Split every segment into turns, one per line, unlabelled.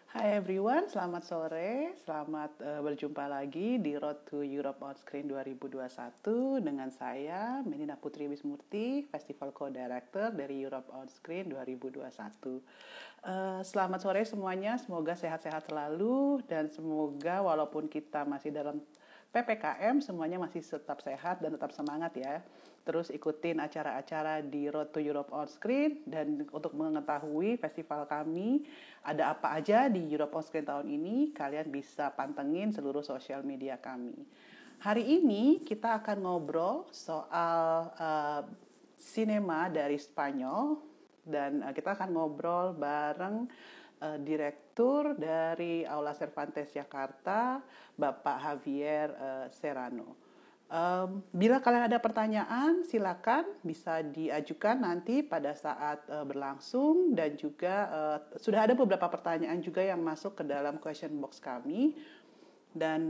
Hai everyone, selamat sore, selamat berjumpa lagi di Road to Europe on Screen 2021 dengan saya, Menina Putri Wismurti, Festival Co-Director dari Europe on Screen 2021. Selamat sore semuanya, semoga sehat-sehat selalu dan semoga walaupun kita masih dalam PPKM, semuanya masih tetap sehat dan tetap semangat ya. Terus ikutin acara-acara di Road to Europe on Screen, dan untuk mengetahui festival kami ada apa aja di Europe on Screen tahun ini, kalian bisa pantengin seluruh sosial media kami. Hari ini kita akan ngobrol soal sinema dari Spanyol, dan kita akan ngobrol bareng Direktur dari Aula Cervantes Jakarta, Bapak Javier Serrano. Bila kalian ada pertanyaan, silakan bisa diajukan nanti pada saat berlangsung, dan juga sudah ada beberapa pertanyaan juga yang masuk ke dalam question box kami. Dan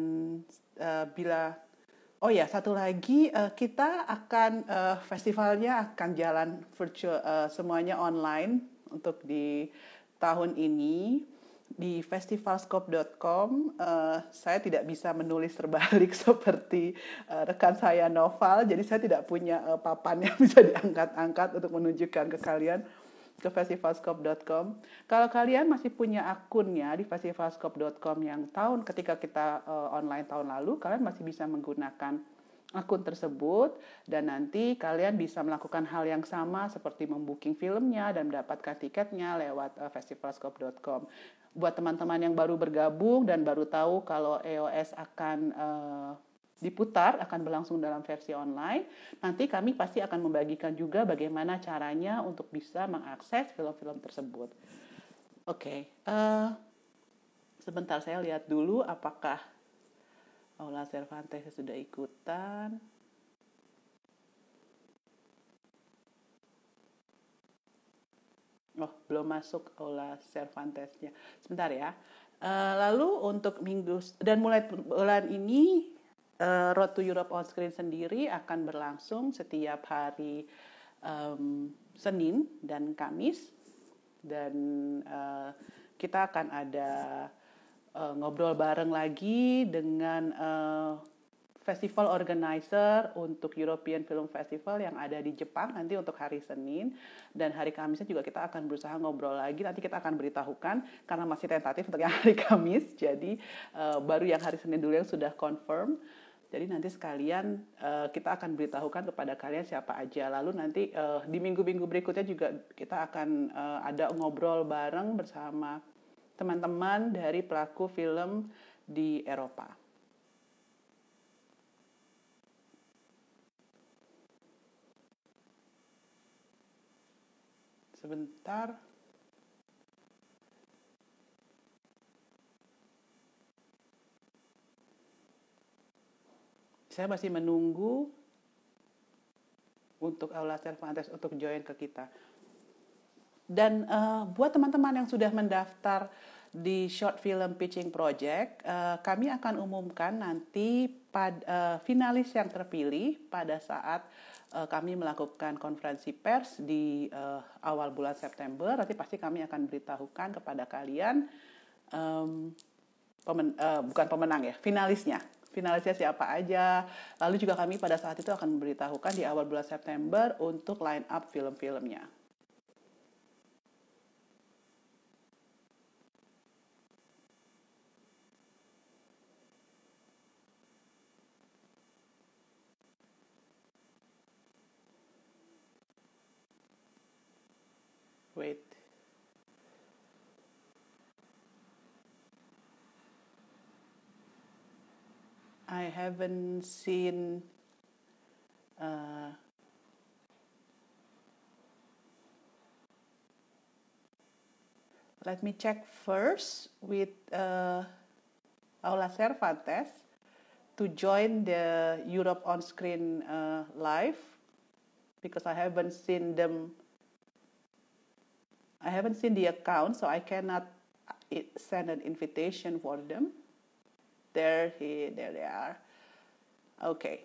satu lagi, kita akan festivalnya akan jalan virtual, semuanya online untuk di tahun ini di festivalscope.com. Saya tidak bisa menulis terbalik seperti rekan saya Noval, jadi saya tidak punya papan yang bisa diangkat-angkat untuk menunjukkan ke kalian ke festivalscope.com. Kalau kalian masih punya akunnya di festivalscope.com yang ketika kita online tahun lalu, kalian masih bisa menggunakan akun tersebut, dan nanti kalian bisa melakukan hal yang sama seperti membooking filmnya dan mendapatkan tiketnya lewat festivalscope.com. Buat teman-teman yang baru bergabung dan baru tahu kalau EOS akan diputar, akan berlangsung dalam versi online, nanti kami pasti akan membagikan juga bagaimana caranya untuk bisa mengakses film-film tersebut. Oke, sebentar saya lihat dulu apakah Aula Cervantes sudah ikutan. Oh, belum masuk Aula Cervantesnya. Sebentar ya. Lalu untuk minggu dan mulai bulan ini, Road to Europe on Screen sendiri akan berlangsung setiap hari Senin dan Kamis, dan kita akan ada ngobrol bareng lagi dengan festival organizer untuk European Film Festival yang ada di Jepang nanti untuk hari Senin, dan hari Kamisnya juga kita akan berusaha ngobrol lagi. Nanti kita akan beritahukan karena masih tentatif untuk yang hari Kamis, jadi baru yang hari Senin dulu yang sudah confirm. Jadi nanti sekalian kita akan beritahukan kepada kalian siapa aja. Lalu nanti di minggu-minggu berikutnya juga kita akan ada ngobrol bareng bersama teman-teman dari pelaku film di Eropa. Sebentar. Saya masih menunggu untuk Aula Cervantes untuk join ke kita. Dan buat teman-teman yang sudah mendaftar di Short Film Pitching Project, kami akan umumkan nanti finalis yang terpilih pada saat kami melakukan konferensi pers di awal bulan September. Nanti pasti kami akan beritahukan kepada kalian, bukan pemenang ya, finalisnya siapa aja. Lalu juga kami pada saat itu akan memberitahukan di awal bulan September untuk line up film-filmnya. Wait. I haven't seen let me check first with Aula Cervantes to join the Europe on Screen live, because I haven't seen them. I haven't seen the account, so I cannot send an invitation for them. There they are. Okay.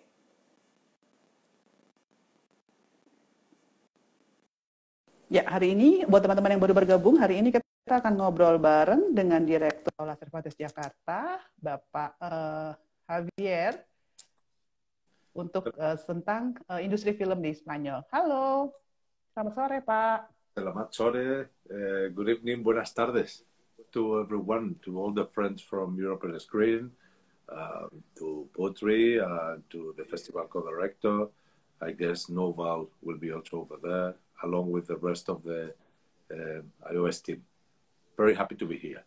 Ya, hari ini buat teman-teman yang baru bergabung, hari ini kita Kita akan ngobrol bareng dengan Direktur Aula Cervantes Jakarta, Bapak Javier, untuk tentang industri film di Spanyol. Halo, selamat sore Pak.
Selamat sore, good evening, buenas tardes to everyone, to all the friends from European Screen, to Putri, to the festival co-director. I guess Noval will be also over there, along with the rest of the iOS team. Very happy to be here.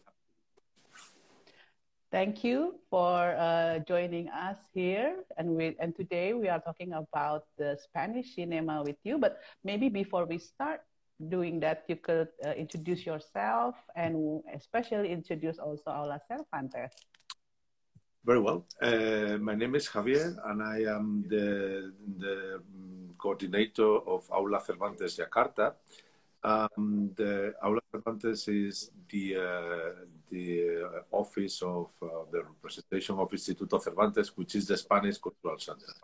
Thank you for joining us here. And today we are talking about the Spanish cinema with you. But maybe before we start doing that, you could introduce yourself and especially introduce also Aula Cervantes.
Very well. My name is Javier, and I am the coordinator of Aula Cervantes Jakarta. The Aula Cervantes is the office of the representation of Instituto Cervantes, which is the Spanish Cultural Center.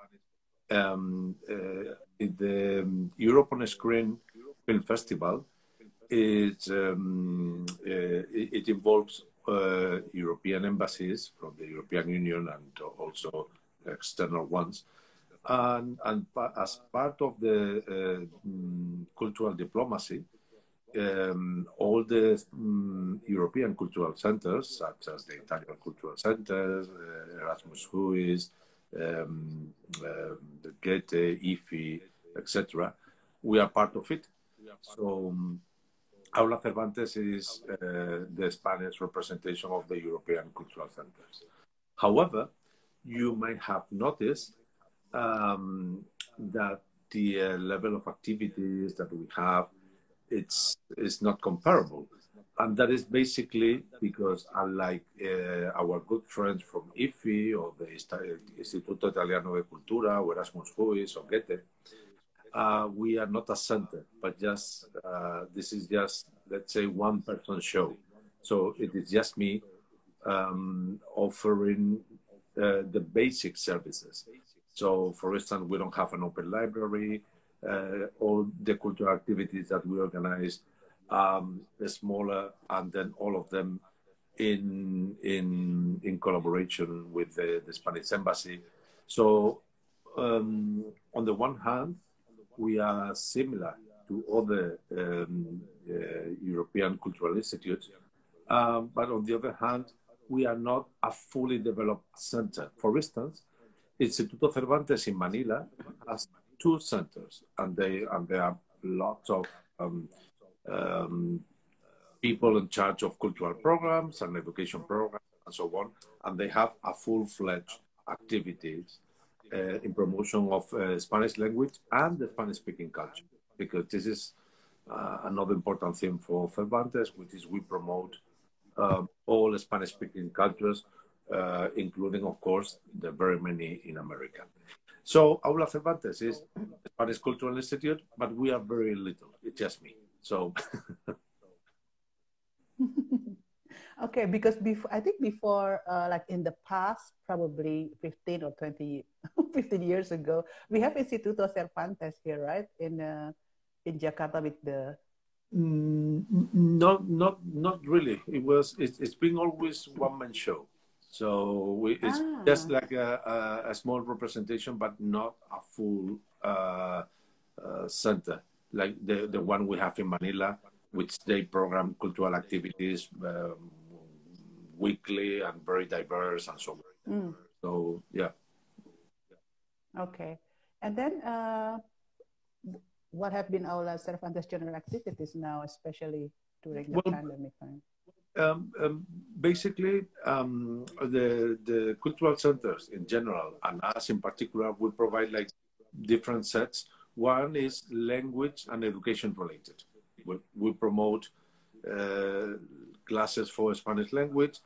The Europe on Screen Film Festival it involves European embassies from the European Union and also external ones. And as part of the cultural diplomacy, all the European cultural centers, such as the Italian Cultural Center, Erasmus Huis, Goethe, IFI, etc., we are part of it. So Aula Cervantes is the Spanish representation of the European cultural centers. However, you might have noticed that the level of activities that we have is not comparable, and that is basically because, unlike our good friends from IFI or the Istituto Italiano de Cultura or Erasmus Huis or Goethe, we are not a center, but just this is just, let's say, one person show. So it is just me offering the basic services. So, for instance, we don't have an open library. All the cultural activities that we organize are smaller, and then all of them in collaboration with the Spanish Embassy. So, on the one hand, we are similar to other European cultural institutes, but on the other hand, we are not a fully developed center. For instance, Instituto Cervantes in Manila has 2 centers, and there are lots of people in charge of cultural programs and education programs and so on, and they have a full-fledged activities in promotion of Spanish language and the Spanish-speaking culture, because this is another important thing for Cervantes, which is we promote all Spanish-speaking cultures, including, of course, the very many in America. So Aula Cervantes is the Spanish Cultural Institute, but we are very little. It's just me. So.
Okay, because I think before, like in the past, probably 15 or 20, 15 years ago, we have Instituto Cervantes here, right? In Jakarta with the.
Not really. It's been always one-man show. So it's just like a small representation, but not a full center, like the one we have in Manila, which they program cultural activities weekly and very diverse and so on. So, yeah.
Okay. And then what have been Aula Cervantes general activities now, especially during the pandemic time?
Basically, the cultural centers in general, and us in particular, will provide like different sets. One is language and education related. We promote classes for Spanish language,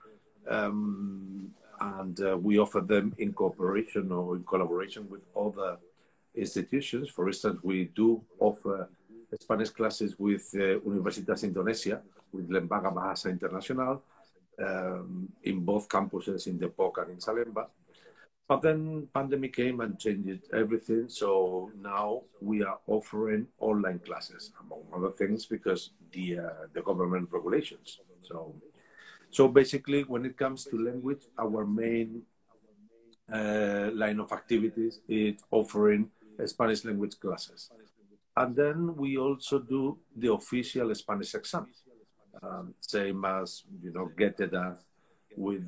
and we offer them in cooperation or in collaboration with other institutions. For instance, we do offer Spanish classes with Universitas Indonesia, with Lembaga Bahasa Internasional, in both campuses in Depok and in Salemba. But then pandemic came and changed everything. So now we are offering online classes, among other things, because the government regulations. So basically, when it comes to language, our main line of activities is offering Spanish language classes. And then we also do the official Spanish exam, same as, GETEDAS with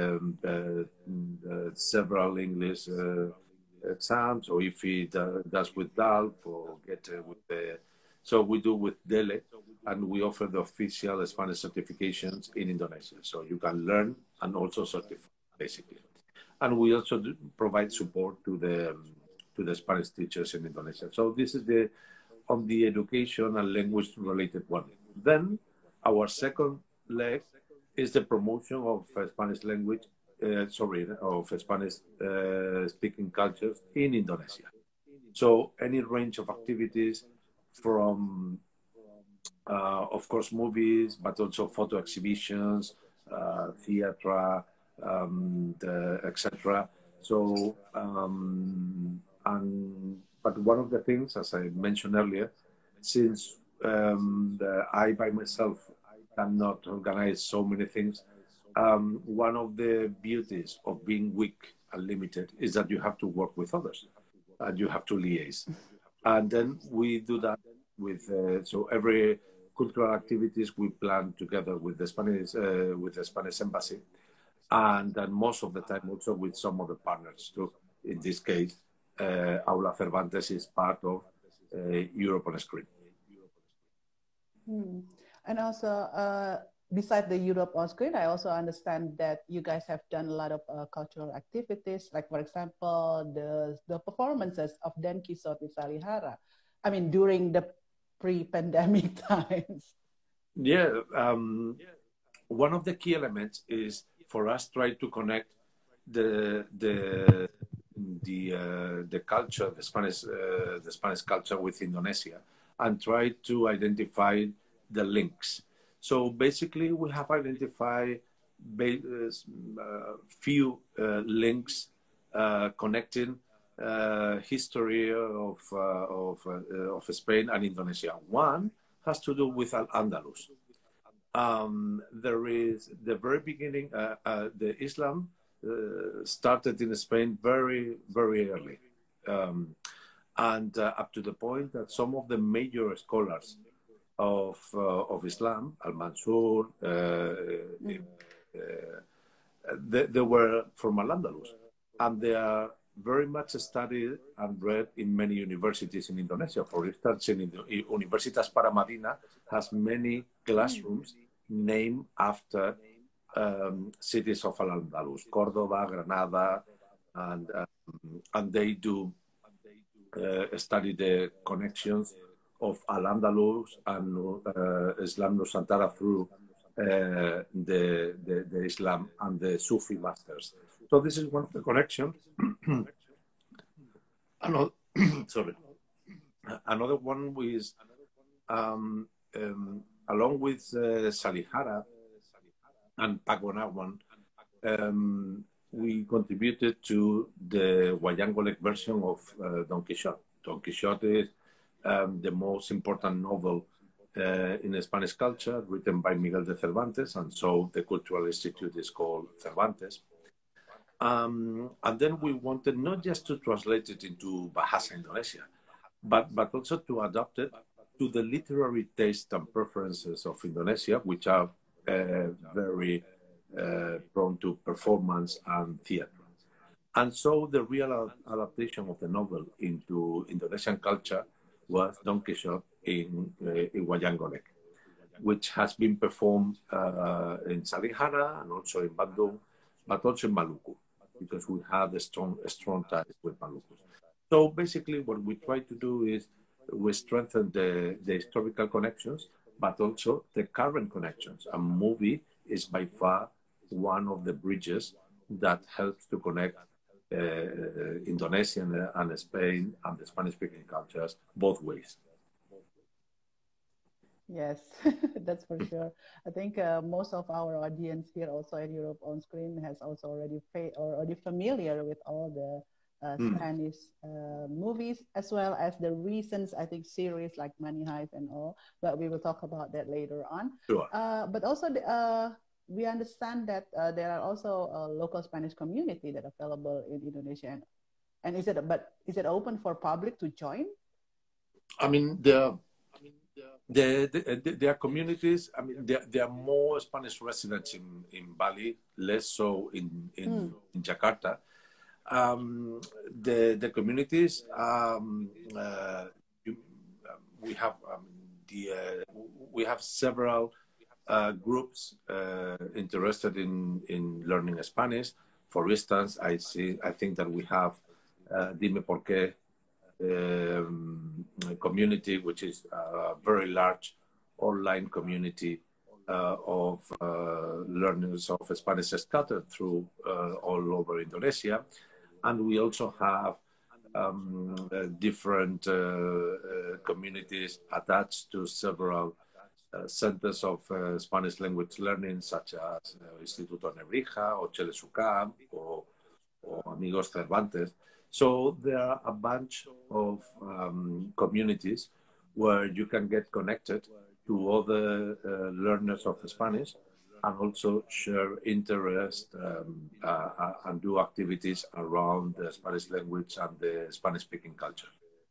several English exams, or if he does with DALF or GETE with the... So we do with DELE, and we offer the official Spanish certifications in Indonesia. So you can learn and also certify, basically. And we also provide support to the Spanish teachers in Indonesia. So this is on the education and language related one. Then our second leg is the promotion of Spanish language, of Spanish speaking cultures in Indonesia. So any range of activities from, of course, movies, but also photo exhibitions, theater, etc. So, but one of the things, as I mentioned earlier, since I by myself cannot organize so many things, one of the beauties of being weak and limited is that you have to work with others and you have to liaise. And then we do that with, so every cultural activities we plan together with the Spanish embassy, and then most of the time also with some other partners too. In this case, Aula Cervantes is part of Europe on Screen.
And also, besides the Europe on Screen, I also understand that you guys have done a lot of cultural activities, like, for example, the performances of Dan Quixote with Salihara. I mean, during the pre-pandemic times.
Yeah, one of the key elements is for us try to connect the culture, the Spanish culture with Indonesia, and try to identify the links. So basically, we have identified few links connecting history of Spain and Indonesia. One has to do with Al-Andalus. There is the very beginning, the Islam started in Spain very, very early. And up to the point that some of the major scholars of Islam, Al-Mansur, they were from Al-Andalus. And they are very much studied and read in many universities in Indonesia. For instance, Universitas Paramadina has many classrooms named after cities of Al-Andalus, Cordoba, Granada, and they do study the connections of Al-Andalus and Islam Nusantara through the Islam and the Sufi masters. So this is one of the connections. Another one is along with Salihara and Pagonawan, we contributed to the Wayangolek version of Don Quixote. Don Quixote is the most important novel in Spanish culture, written by Miguel de Cervantes, and so the Cultural Institute is called Cervantes. And then we wanted not just to translate it into Bahasa Indonesia, but also to adapt it to the literary taste and preferences of Indonesia, which are very prone to performance and theater. And so the real adaptation of the novel into Indonesian culture was Don Quixote in Wayangolek, which has been performed in Salihara and also in Bandung, but also in Maluku, because we have a strong ties with Maluku. So basically what we try to do is we strengthen the historical connections, but also the current connections. A movie is by far one of the bridges that helps to connect Indonesia and Spain and the Spanish-speaking cultures both ways.
Yes, that's for sure. I think most of our audience here also at Europe on Screen has also already familiar with all the
Mm,
Spanish movies as well as the recent I think series like Money Heist and all. But we will talk about that later on.
sure.
But also we understand that there are also a local Spanish community that are available in Indonesia. And is it open for public to join?
I mean, there are communities. I mean, there are more Spanish residents in Bali, less so in Jakarta. The communities you, we have we have several groups interested in learning Spanish. For instance, I think that we have Dime Por Qué community, which is a very large online community of learners of Spanish scattered through all over Indonesia. And we also have different communities attached to several centers of Spanish language learning, such as Instituto Nebrija or Chelesucam or Amigos Cervantes. So there are a bunch of communities where you can get connected to other learners of Spanish and also share interest and do activities around the Spanish language and the Spanish-speaking culture.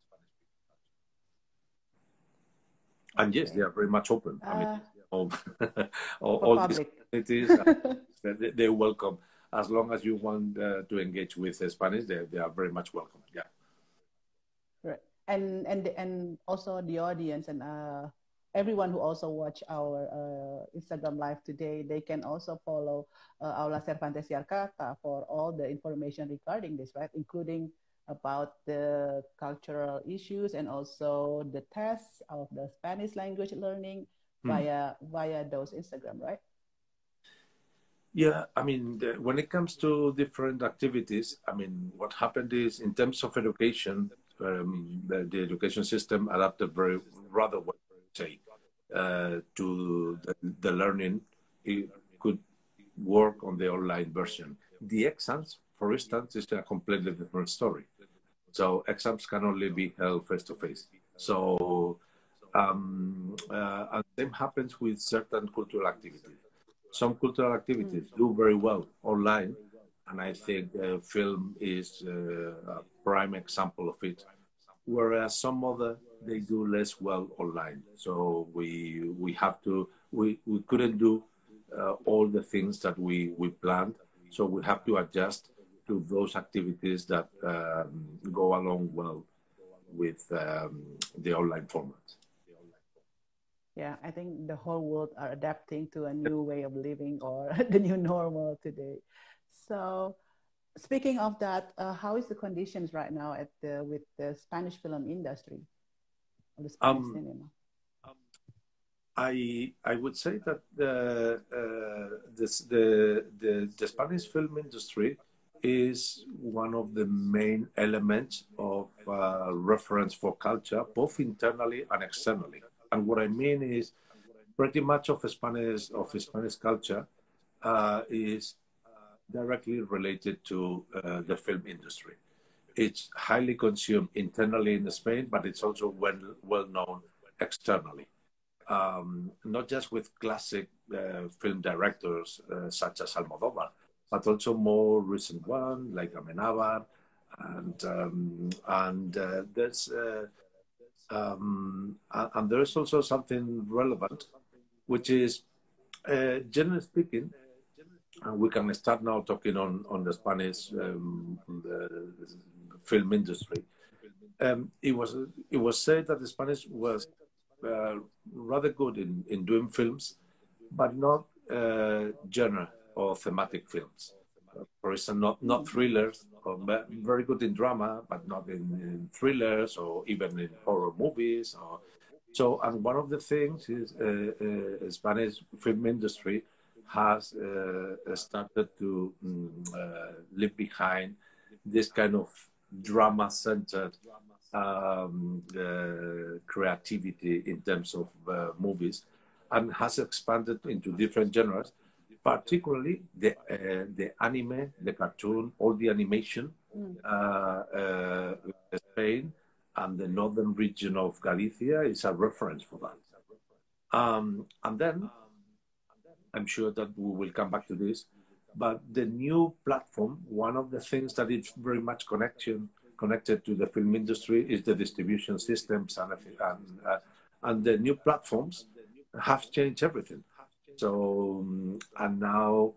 And yes, they are very much open. I mean, all these communities, they welcome. As long as you want to engage with Spanish, they are very much welcome. Yeah.
Right. And also the audience and everyone who also watch our Instagram live today, they can also follow Aula Cervantes Yarkata for all the information regarding this, right? Including about the cultural issues and also the tests of the Spanish language learning via those Instagram, right?
Yeah, I mean, when it comes to different activities, I mean, what happened is in terms of education, the education system adapted rather well, say, to the learning. It could work on the online version. The exams, for instance, is a completely different story. So exams can only be held face to face. So, and same happens with certain cultural activities. Some cultural activities do very well online, and I think film is a prime example of it. Whereas some other they do less well online. So we couldn't do all the things that we planned. So we have to adjust to those activities that go along well with the online format.
Yeah, I think the whole world are adapting to a new way of living or the new normal today. So, speaking of that, how is the conditions right now at with the Spanish film industry or the Spanish cinema?
I would say that the Spanish film industry is one of the main elements of reference for culture, both internally and externally. And what I mean is, pretty much of Spanish culture is directly related to the film industry. It's highly consumed internally in Spain, but it's also well known externally. Not just with classic film directors such as Almodóvar, but also more recent one like Amenábar, and there's also something relevant, which is generally speaking. We can start now talking on the Spanish the film industry. It was said that the Spanish was rather good in doing films, but not genre or thematic films. For instance, not thrillers, or very good in drama, but not in thrillers or even in horror movies. So, and one of the things is Spanish film industry has started to leave behind this kind of drama-centered creativity in terms of movies, and has expanded into different genres, particularly the anime, the cartoon, all the animation. Spain and the northern region of Galicia is a reference for that. And then I'm sure that we will come back to this, but the new platform, one of the things that is very much connected to the film industry is the distribution systems, and the new platforms have changed everything. So, and now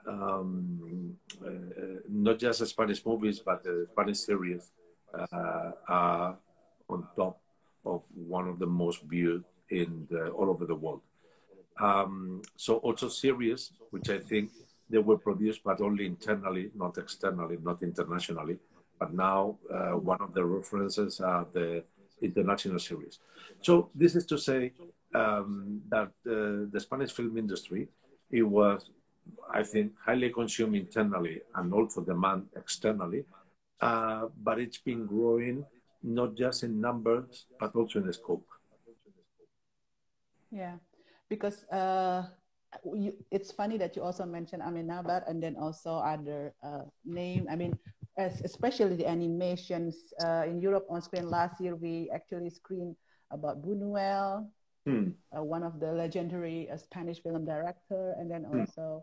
not just Spanish movies, but Spanish series are on top of one of the most viewed all over the world. So also series, which I think they were produced, but only internally, not externally, not internationally. But now one of the references are the international series. So this is to say that the Spanish film industry, it was, I think, highly consumed internally and also demand externally. But it's been growing not just in numbers, but also in scope.
Yeah, because it's funny that you also mentioned Amenabar and then also other name. I mean, especially the animations in Europe on screen. Last year, we actually screened about Buñuel, one of the legendary Spanish film director, and then also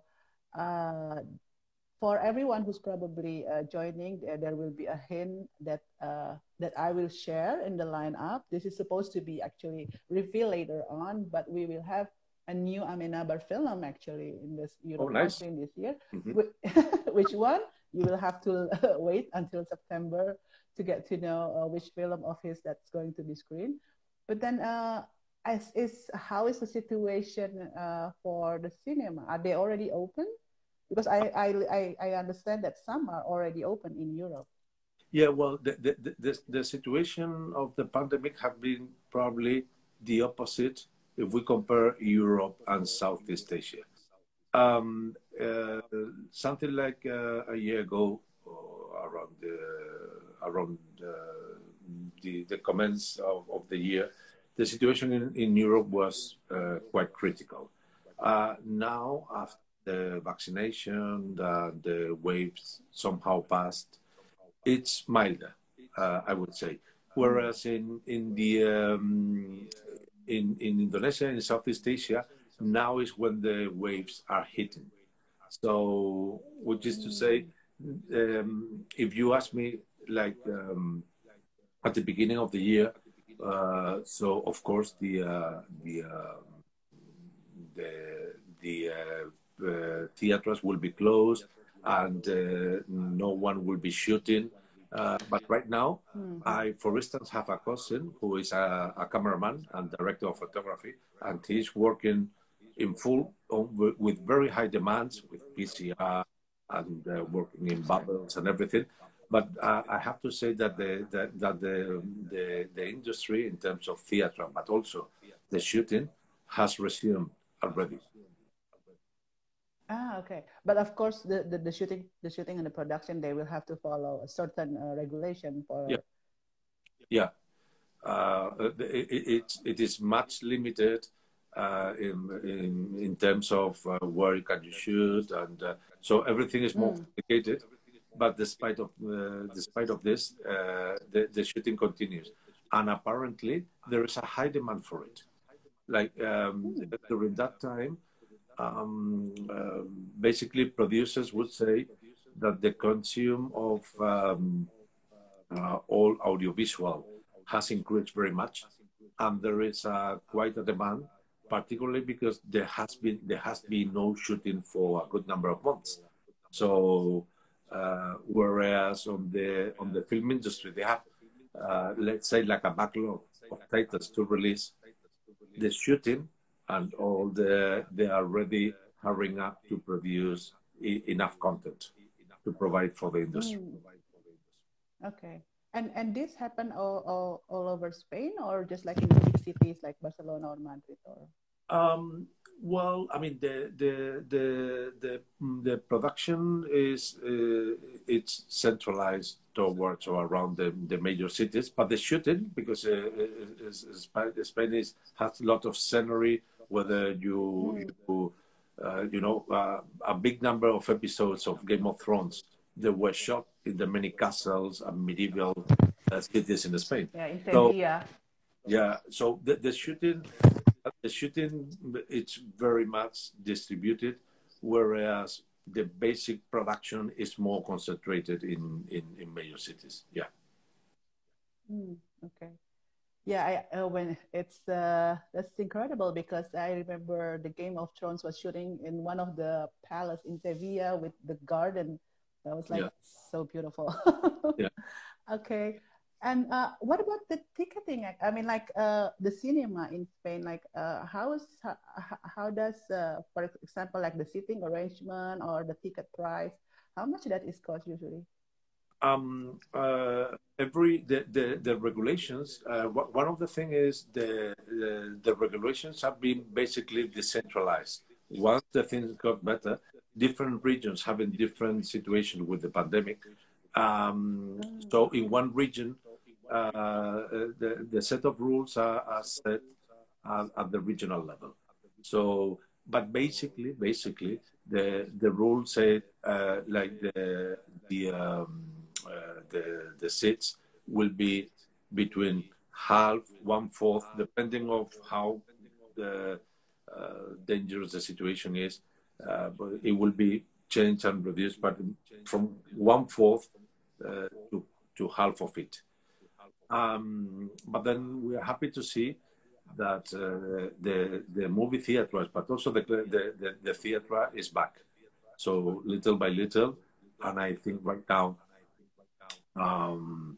for everyone who's probably joining, there will be a hint that that I will share in the lineup. This is supposed to be actually revealed later on, but we will have a new Amenabar film actually in this Europe screen this year. Which one? You will have to wait until September to get to know which film of his that's going to be screened. But then, how is the situation for the cinema? Are they already open? Because I understand that some are already open in Europe.
Yeah, well, the situation of the pandemic have been probably the opposite if we compare Europe and Southeast Asia. Something like a year ago, around the commence of the year, the situation in Europe was quite critical. Now, after the vaccination, the waves somehow passed, it's milder, I would say. Whereas in Indonesia, in Southeast Asia, now is when the waves are hitting. So, which is to say, if you ask me, like at the beginning of the year, so of course the theaters will be closed and no one will be shooting. But right now, I, for instance, have a cousin who is a cameraman and director of photography, and he's working in full with very high demands with PCR and working in bubbles and everything. But I have to say that the industry in terms of theater, but also the shooting, has resumed already.
Okay. But of course, the shooting and the production, they will have to follow a certain regulation for.
Yeah. It is much limited in terms of where you can shoot, and so everything is more complicated. But despite of this, the shooting continues, and apparently there is a high demand for it. Like during that time, basically producers would say that the consume of all audiovisual has increased very much, and there is quite a demand, particularly because there has been no shooting for a good number of months. So whereas on the film industry they have let's say like a backlog of titles to release, the shooting and all they are ready hurrying up to produce enough content to provide for the industry.
Okay. And this happened all over Spain, or just like in the big cities like Barcelona or Madrid? Or
Well, I mean, the production is it's centralized towards or around the major cities, but the shooting, because Spain has a lot of scenery. Whether you know, a big number of episodes of Game of Thrones, they were shot in the many castles and medieval cities in Spain.
Yeah, in
So
Sevilla.
yeah, so the shooting it's very much distributed, whereas the basic production is more concentrated in major cities. Yeah.
Okay. Yeah, when it's that's incredible because I remember the Game of Thrones was shooting in one of the palace in Sevilla with the garden. That was like
Yeah.
so beautiful.
Yeah.
Okay. And what about the ticketing? I mean, like the cinema in Spain, like how does, for example, like the seating arrangement or the ticket price, how much that is cost usually?
Every the regulations. One of the thing is the regulations have been basically decentralized. Once the things got better, different regions having different situation with the pandemic. So in one region, the set of rules are set at the regional level. So, but basically, the rules say like the seats will be between half, one fourth, depending of how the dangerous the situation is. But it will be changed and reduced, but from one fourth to half of it. But then we are happy to see that the movie theaters, but also the theater is back. So little by little, and I think right now um,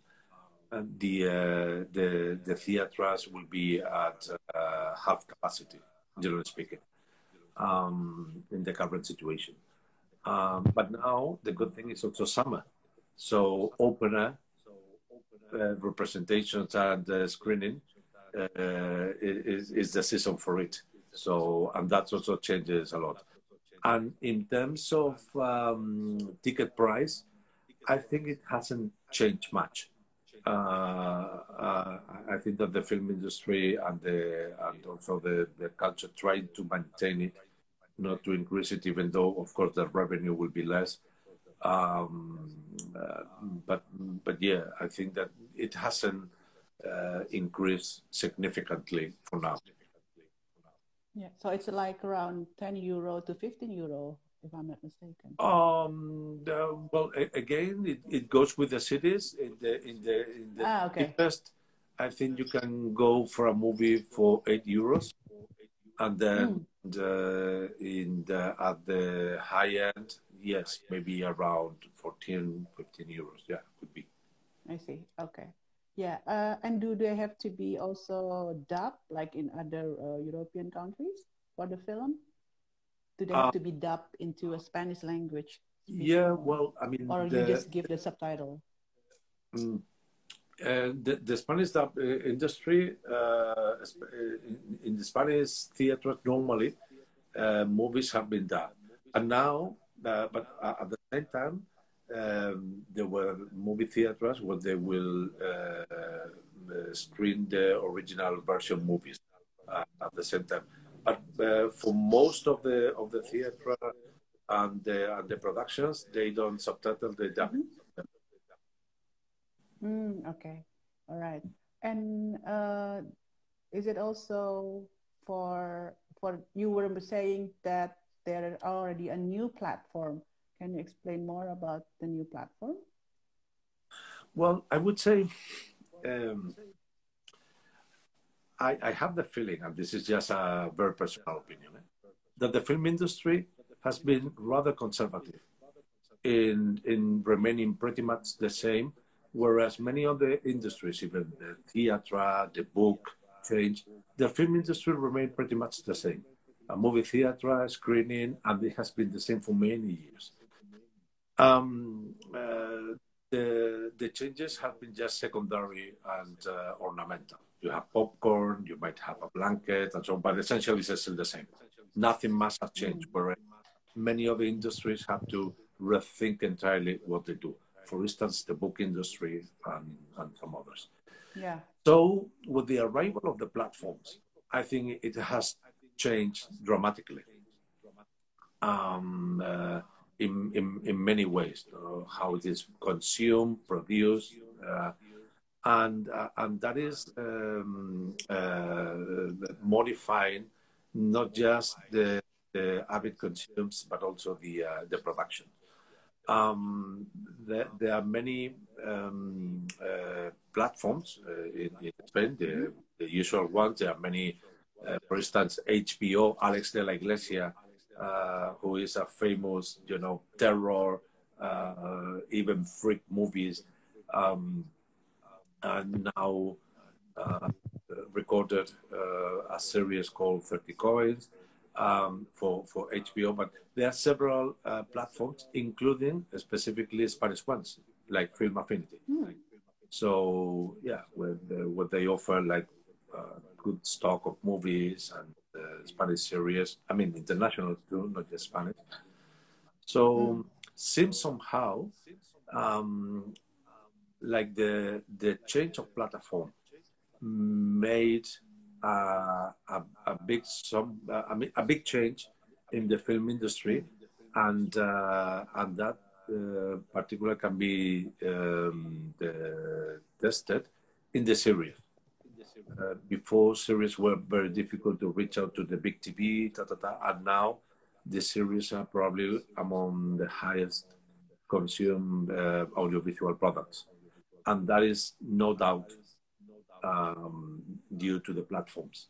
the theaters will be at half capacity, generally speaking, in the current situation. But now the good thing is also summer, so open air representations and screening is the season for it. So, and that also changes a lot. And in terms of ticket price, I think it hasn't changed much. I think that the film industry and also the culture trying to maintain it, not to increase it, even though of course the revenue will be less. Um, uh, but yeah, I think that it hasn't increased significantly for now.
Yeah, so it's like around 10 euro to 15 euro, if I'm not mistaken.
Well, again, it goes with the cities. In the
Okay.
cheapest, I think you can go for a movie for €8, and then at the high end, yes, maybe around 14, €15. Yeah, could be.
I see. Okay. Yeah. And do they have to be also dubbed like in other European countries for the film? Do they have
Uh,
to be dubbed into a Spanish language
yeah,
speaking,
well, I mean,
or you just give the subtitle?
mm, the Spanish dub industry in the Spanish theater normally movies have been done, and now, but at the same time, there were movie theaters where they will screen the original version movies at the same time. But for most of the theater and the productions, they don't subtitle, they dub it.
Okay. All right. And is it also for you were saying that there are already a new platform? Can you explain more about the new platform?
Well, I would say um, I have the feeling, and this is just a very personal opinion, that the film industry has been rather conservative in remaining pretty much the same, whereas many other industries, even the theatre, the book, change. The film industry remained pretty much the same. A movie theatre, screening, and it has been the same for many years. Um, uh, the changes have been just secondary and ornamental. You have popcorn, you might have a blanket, and so on, but essentially it's still the same. nothing must have changed. Whereas many other industries have to rethink entirely what they do. For instance, the book industry and some others.
Yeah.
So with the arrival of the platforms, I think it has changed dramatically in many ways, how it is consumed, produced, and that is modifying not just the avid consumes, but also the production. There are many platforms in Spain, the usual ones. There are many, for instance, HBO, Alex de la Iglesia, who is a famous, terror, even freak movies, and now recorded a series called 30 Coins for HBO, but there are several platforms, including specifically Spanish ones, like Film Affinity. So yeah, what they offer, like good stock of movies and Spanish series. I mean, international too, not just Spanish. So seems somehow like the change of platform made a big change in the film industry, and that particular can be tested in the series. Before, series were very difficult to reach out to the big TV, and now the series are probably among the highest consumed audiovisual products, and that is no doubt due to the platforms.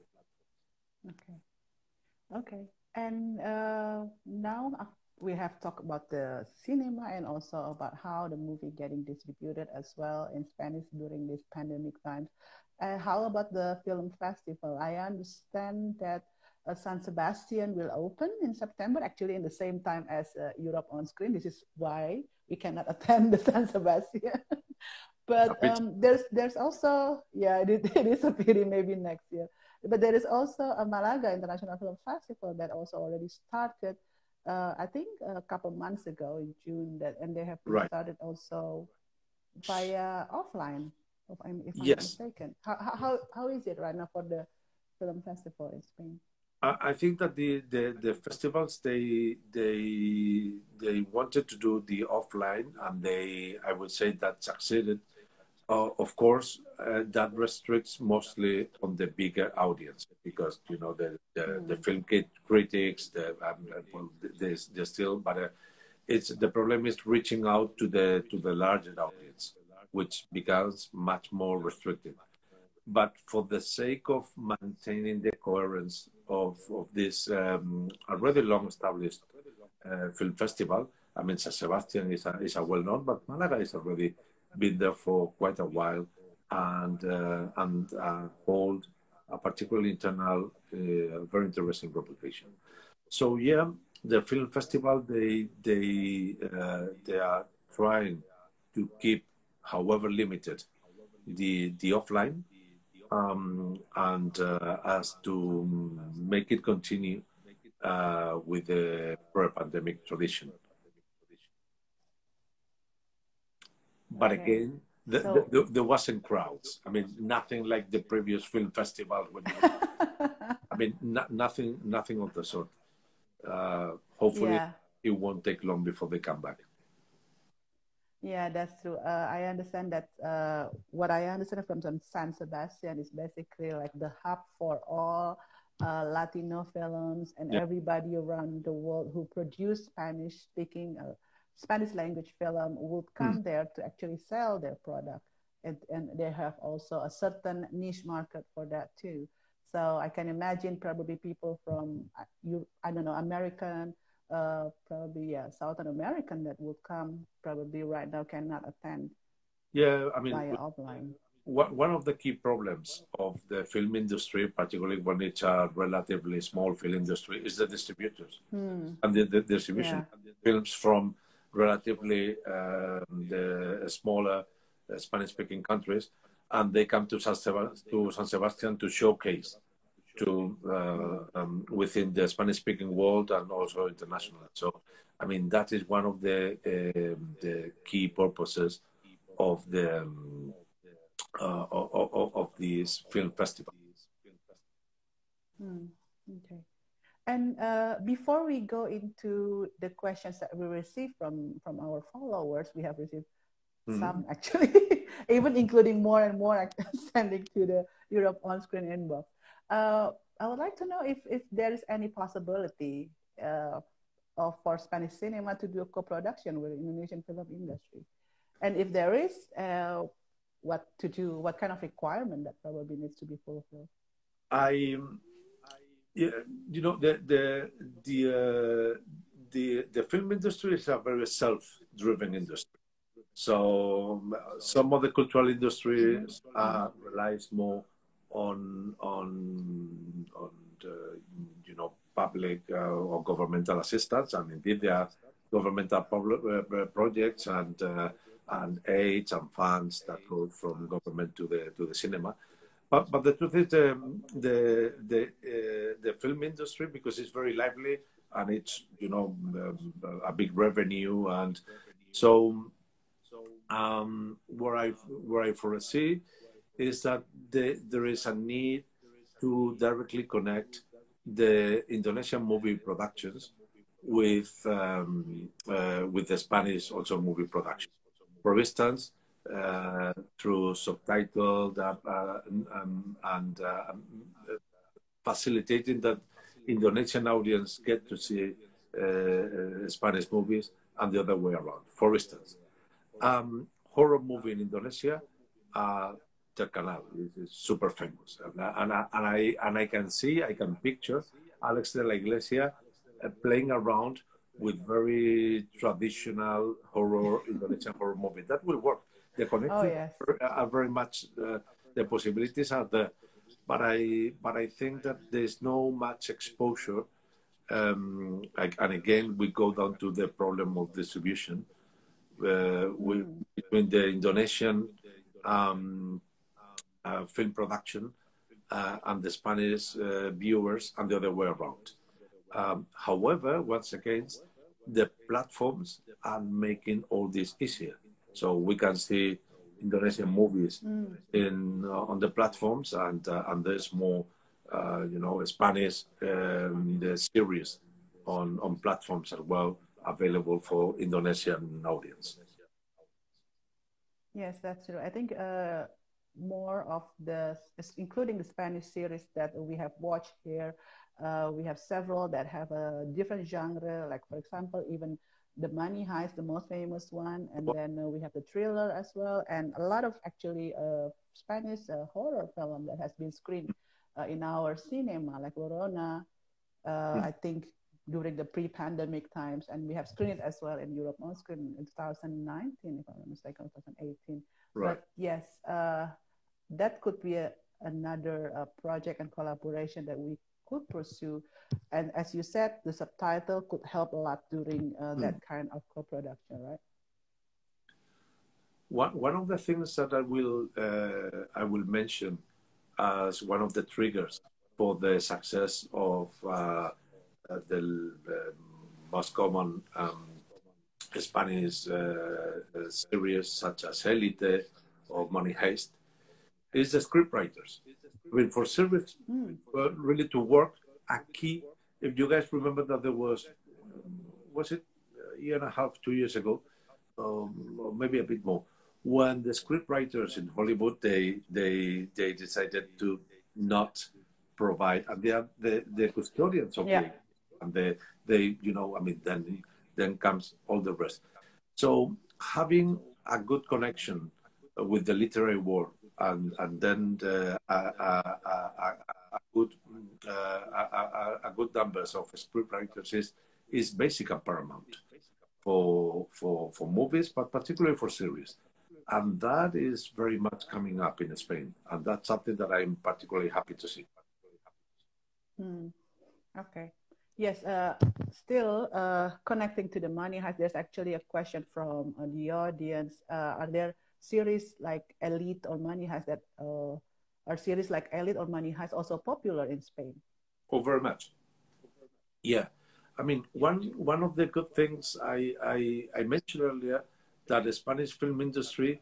Okay. And now we have talked about the cinema and also about how the movie getting distributed as well in Spanish during this pandemic times. How about the film festival? I understand that San Sebastian will open in September, actually in the same time as Europe on Screen. This is why we cannot attend the San Sebastian. But there's also, yeah, it is a pity, maybe next year. But there is also a Malaga International Film Festival that also already started, I think a couple months ago in June, and they have started also via offline, if I'm mistaken. How is it right now for the film festival in Spain?
I think that the festivals they wanted to do the offline, and I would say that succeeded. Of course, that restricts mostly on the bigger audience, because the film critics, they're still, but the problem is reaching out to the larger audience, which becomes much more restricted. But for the sake of maintaining the coherence of this already long established film festival, I mean, San Sebastian is a well known, but Malaga is already been there for quite a while, and hold a particularly internal, very interesting reputation. So yeah, the film festival they are trying to keep, however limited, the offline, and as to make it continue with the pre-pandemic tradition. But again, there wasn't crowds. I mean, nothing like the previous film festival. I mean, nothing of the sort. Hopefully, it won't take long before they come back.
Yeah, that's true. I understand that what I understand from San Sebastian is basically like the hub for all Latino films and everybody around the world who produce Spanish-speaking Spanish language film would come there to actually sell their product. And they have also a certain niche market for that too. So I can imagine probably people from, I don't know, American, probably Southern American that would come probably right now cannot attend.
Yeah, I mean,
via offline.
One of the key problems of the film industry, particularly when it's a relatively small film industry, is the distributors. And the distribution films from relatively the smaller Spanish-speaking countries, and they come to San Sebastian to showcase within the Spanish-speaking world and also internationally. So, I mean, that is one of the key purposes of of this film festival.
Okay. And before we go into the questions that we received from our followers, we have received some actually, even including more and more sending to the Europe on-screen inbox. I would like to know if there is any possibility for Spanish cinema to do a co-production with the Indonesian film industry. And if there is, what to do, what kind of requirement that probably needs to be fulfilled?
Yeah, you know, the film industry is a very self-driven industry. So some of the cultural industry relies more on the, you know, public or governmental assistance, and indeed there are governmental projects and aids and funds that go from government to the cinema. But the truth is, the film industry, because it's very lively and it's, you know, a big revenue, and so where I foresee is that there is a need to directly connect the Indonesian movie productions with the Spanish also movie production. For instance, through subtitled and facilitating that Indonesian audience get to see Spanish movies and the other way around. For instance, horror movie in Indonesia, Terkenal is super famous, and I can picture Alex de la Iglesia playing around with very traditional Indonesian horror movie. That will work. The connections are very much, the possibilities are there, but I think that there's no much exposure, and again we go down to the problem of distribution between the Indonesian film production and the Spanish viewers and the other way around. However, once again, the platforms are making all this easier. So we can see Indonesian movies on the platforms, and there's more, you know, Spanish the series on platforms as well available for Indonesian audience.
Yes, that's true. I think more of including the Spanish series that we have watched here, we have several that have a different genre, like for example, even The Money Heist, the most famous one, and then we have the thriller as well, and a lot of actually Spanish horror film that has been screened in our cinema, like Verona, I think during the pre-pandemic times, and we have screened it as well in Europe on screen in 2019, if I'm not mistaken, 2018. Right. But yes, that could be another project and collaboration that we could pursue. And as you said, the subtitle could help a lot during that kind of co-production, right?
One of the things that I will mention as one of the triggers for the success of the most common Spanish series such as Elite or Money Heist is the scriptwriters. I mean, for series really to work, a key. If you guys remember that there was it a year and a half, 2 years ago, or maybe a bit more, when the scriptwriters in Hollywood they decided to not provide, and they are the custodians of the, and they you know, I mean, then comes all the rest. So having a good connection with the literary world, and then a good numbers of scriptwriters is basic and paramount for movies, but particularly for series. And that is very much coming up in Spain, and that's something that I'm particularly happy to see.
Okay. Yes, still connecting to the Money Heist, there's actually a question from the audience. Are there series like Elite or Money Heist that are series like Elite or Money Heist also popular in Spain?
Oh, very much. Yeah. I mean, one of the good things I mentioned earlier, that the Spanish film industry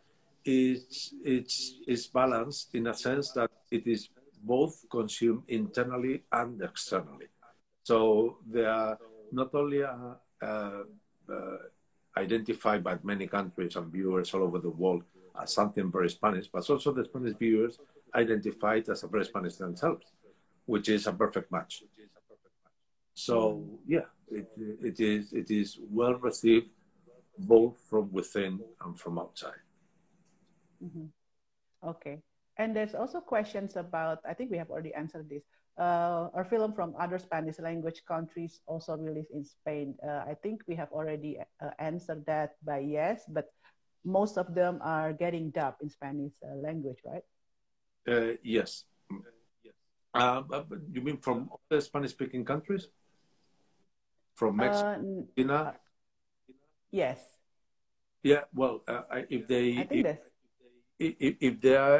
is balanced in a sense that it is both consumed internally and externally. So they are not only uh, identified by many countries and viewers all over the world as something very Spanish, but also the Spanish viewers identified as a very Spanish themselves, which is a perfect match. So yeah, it is well received both from within and from outside.
Mm-hmm. Okay. And there's also questions about, I think we have already answered this. Are film from other Spanish language countries also released in Spain? I think we have already answered that by yes, but most of them are getting dubbed in Spanish language, right?
Yes. But you mean from other Spanish-speaking countries? From Mexico,
Uh, yes.
Yeah. Well, if
I
they
think that's.
if they are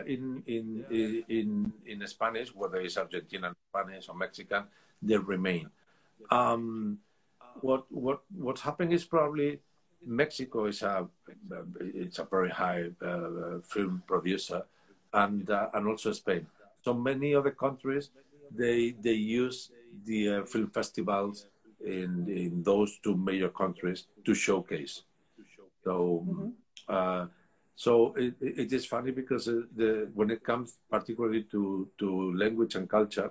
in Spanish, whether it's Argentinian Spanish or Mexican, they remain. Um, what's happening is probably Mexico is it's a very high film producer, and also Spain. So many other countries they use the film festivals in those two major countries to showcase. So.
Mm-hmm.
So it is funny because when it comes particularly to language and culture,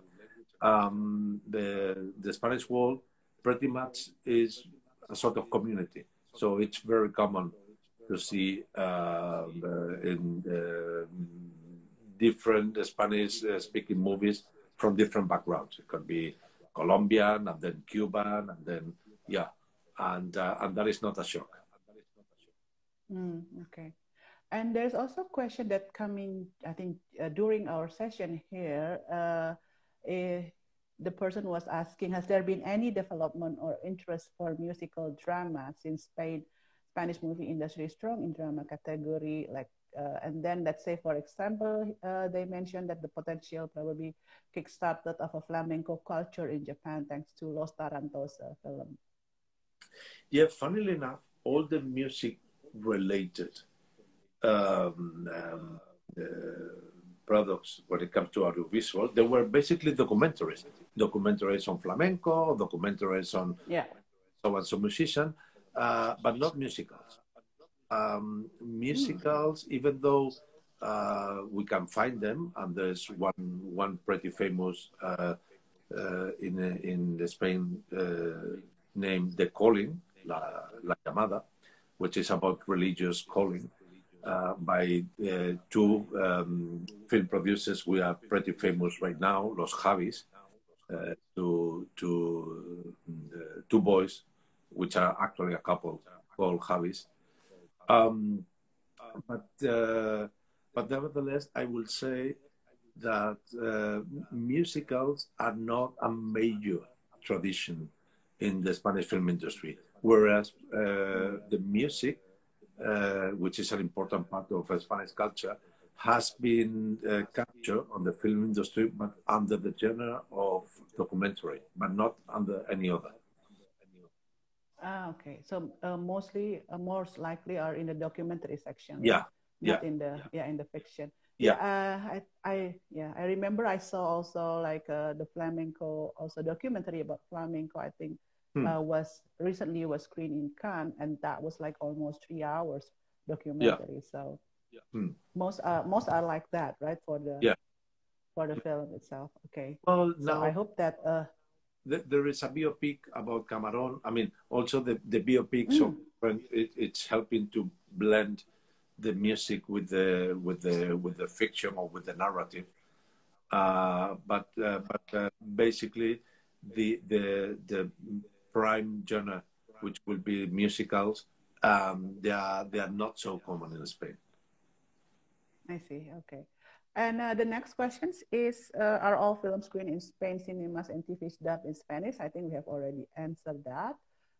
the Spanish world pretty much is a sort of community. So it's very common to see in different Spanish speaking movies from different backgrounds. It could be Colombian and then Cuban and then yeah, and that is not a shock.
Okay. And there's also a question that coming, I think, during our session here, the person was asking, has there been any development or interest for musical drama since Spanish movie industry is strong in drama category? Like, and then let's say, for example, they mentioned that the potential probably kickstarted of a flamenco culture in Japan thanks to Los Tarantos film.
Yeah, funnily enough, all the music related um, um, uh, products when it comes to audiovisual, they were basically documentaries on flamenco, documentaries on so and so musician, but not musicals. Musicals, even though we can find them, and there's one pretty famous in the Spain named The Calling, La Llamada, which is about religious calling by two film producers. We are pretty famous right now, Los Javis, two boys, which are actually a couple called Javis. But nevertheless, I will say that musicals are not a major tradition in the Spanish film industry, whereas the music, which is an important part of Spanish culture, has been captured on the film industry, but under the genre of documentary, but not under any other.
Okay. So mostly, most likely are in the documentary section, right?
Yeah,
Not
yeah,
in the in the fiction.
yeah.
I remember I saw also like the flamenco, also documentary about flamenco. I think was recently was screened in Cannes, and that was like almost 3 hours documentary. So most are like that, right? For the film itself. Okay.
Well,
so
now
I hope that
there is a biopic about Camarón. I mean, also the biopic, so it's helping to blend the music with the fiction or with the narrative. But basically, the prime genre, which will be musicals, they are not so common in Spain.
I see. Okay. And the next question is, are all films screened in Spain cinemas and TVs dubbed in Spanish? I think we have already answered that.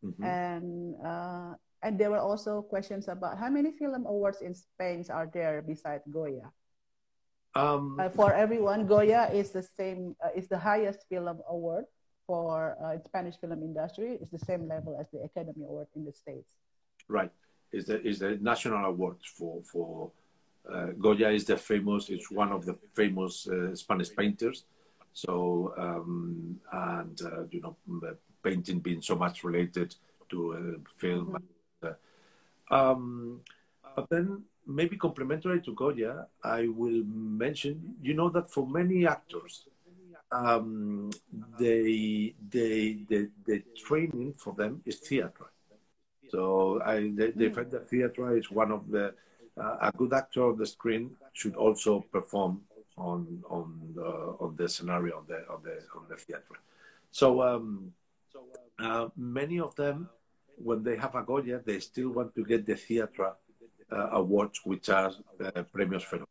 And there were also questions about how many film awards in Spain are there besides Goya? For everyone, Goya is the same. Is the highest film award for Spanish film industry. It's the same level as the Academy Award in the States.
Right. Is the national award for Goya is the famous. It's one of the famous Spanish painters. So and you know, painting being so much related to film. But then maybe complementary to Goya, I will mention, you know, that for many actors, the training for them is theater. So they find that theater is one of the a good actor on the screen should also perform on the scenario on the theater. So many of them, when they have a Goya, they still want to get the theater awards, which are premios Fero.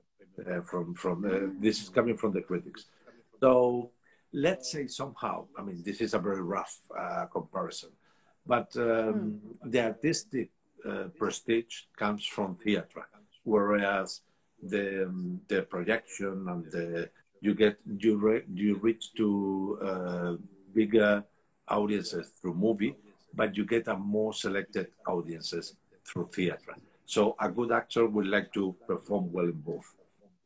This is coming from the critics. So let's say somehow, I mean, this is a very rough comparison, but the artistic prestige comes from theater, whereas the projection and you reach to bigger audiences through movie, but you get a more selected audiences through theater. So a good actor would like to perform well in both.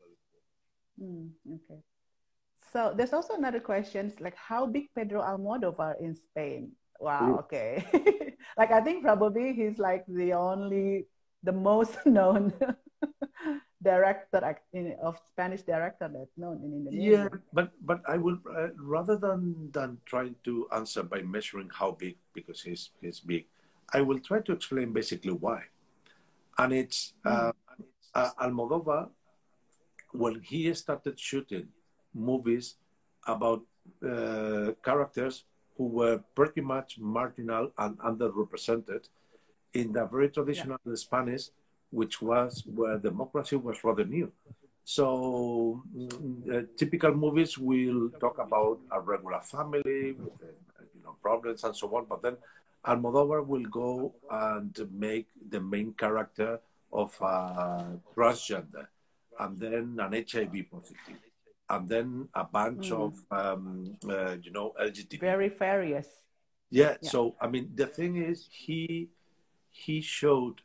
Okay. So there's also another question, like how big Pedro Almodovar in Spain? Wow. Okay. Like I think probably he's like the most known director of Spanish director that's known in Indonesia.
Yeah, but I will rather than trying to answer by measuring how big, because he's big, I will try to explain basically why. And it's Almodovar, when he started shooting movies about characters who were pretty much marginal and underrepresented in the very traditional Spanish, which was where democracy was rather new. So typical movies will talk about a regular family with problems and so on, but then Almodovar will go and make the main character of a transgender, and then an HIV positive, and then a bunch of LGBT.
Very various.
Yeah. So I mean, the thing is, he showed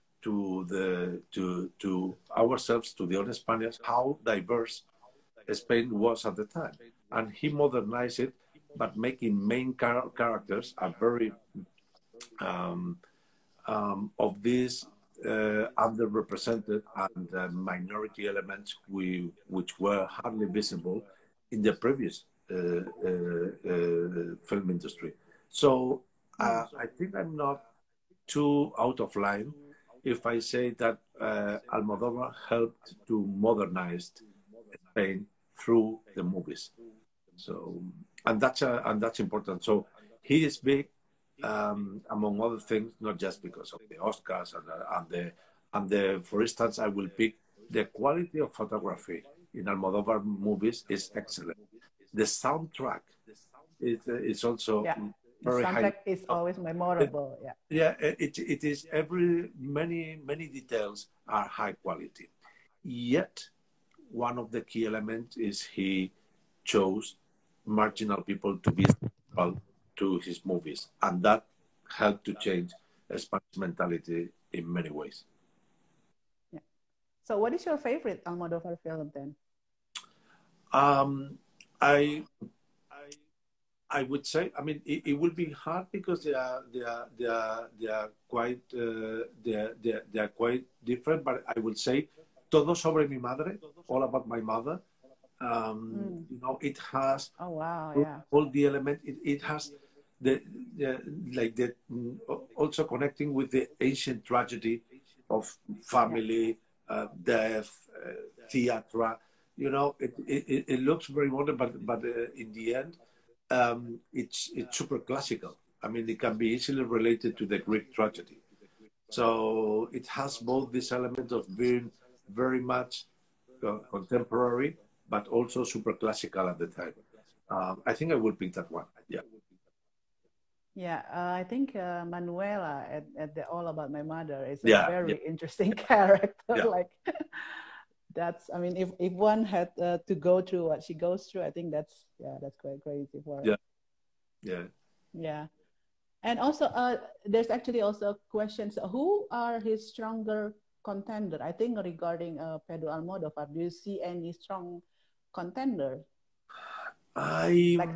to ourselves, to the other Spaniards, how diverse Spain was at the time, and he modernized it, but making main characters are very of these underrepresented and minority elements which were hardly visible in the previous film industry. So I think I'm not too out of line if I say that Almodovar helped to modernize Spain through the movies. So and that's important. So he is big, among other things, not just because of the Oscars and the. For instance, I will pick the quality of photography in Almodovar movies is excellent. The soundtrack is also very high.
The soundtrack is always memorable.
It is many details are high quality. Yet one of the key elements is he chose marginal people to be central to his movies, and that helped to change Spanish mentality in many ways.
Yeah. So what is your favorite Almodovar film then?
I would say, I mean, it will be hard because they are quite different. But I would say, Todo sobre mi madre, all about my mother. You know, it has all the element. It has also connecting with the ancient tragedy of family, death, theatre. You know, it looks very modern, but in the end, it's super classical. I mean, it can be easily related to the Greek tragedy. So it has both this element of being very much contemporary, but also super classical at the time. I think I will pick that one. Yeah.
Yeah, I think Manuela at the All About My Mother is a very interesting character. Like That's, I mean, if one had to go through what she goes through, I think that's, yeah, that's quite crazy for her.
Yeah, yeah.
Yeah. And also, there's actually also questions, who are his stronger contender? I think regarding Pedro Almodovar, do you see any strong contender?
I
Like